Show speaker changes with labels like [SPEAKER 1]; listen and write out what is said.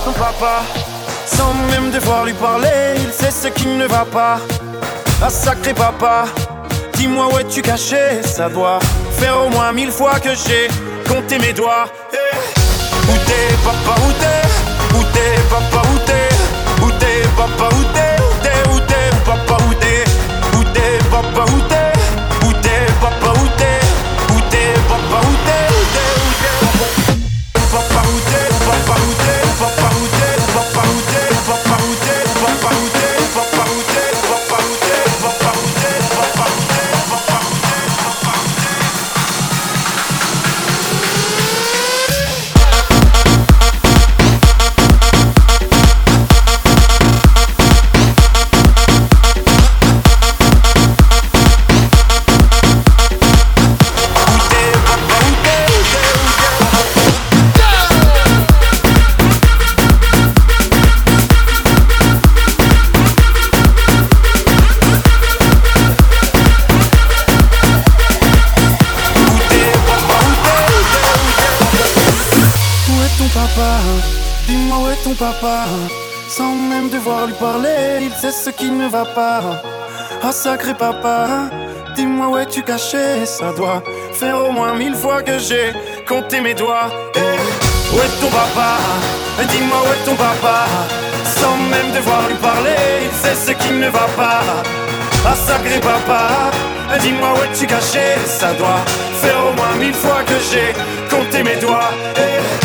[SPEAKER 1] ton papa, sans même devoir lui parler, il sait ce qui ne va pas. Ah sacré papa, dis-moi où es-tu caché? Ça doit faire au moins 1000 fois que j'ai compté mes doigts. Où t'es papa, où t'es? Où t'es papa, où t'es? Où t'es papa, où t'es? Où t'es, où t'es, où papa, où t'es? Où t'es papa, où t'es? Où t'es papa, où t'es? Où t'es papa, où t'es? Où t'es, où t'es? Papa, où t'es? Papa, où t'es? Papa, où t'es? Papa, où t'es? Papa, où t'es? Papa, où t'es? Papa, où t'es? Papa, où t'es? Papa, où t'es? Papa, où t'es? Papa, où t'es? Dis-moi où est ton papa, sans même devoir lui parler, il sait ce qui ne va pas. Ah sacré papa, dis-moi où es-tu caché? Ça doit faire au moins 1000 fois que j'ai compté mes doigts. Où est ton papa? Dis-moi où est ton papa, sans même devoir lui parler, il sait ce qui ne va pas. Ah sacré papa, dis-moi où es-tu caché? Ça doit faire au moins 1000 fois que j'ai compté mes doigts.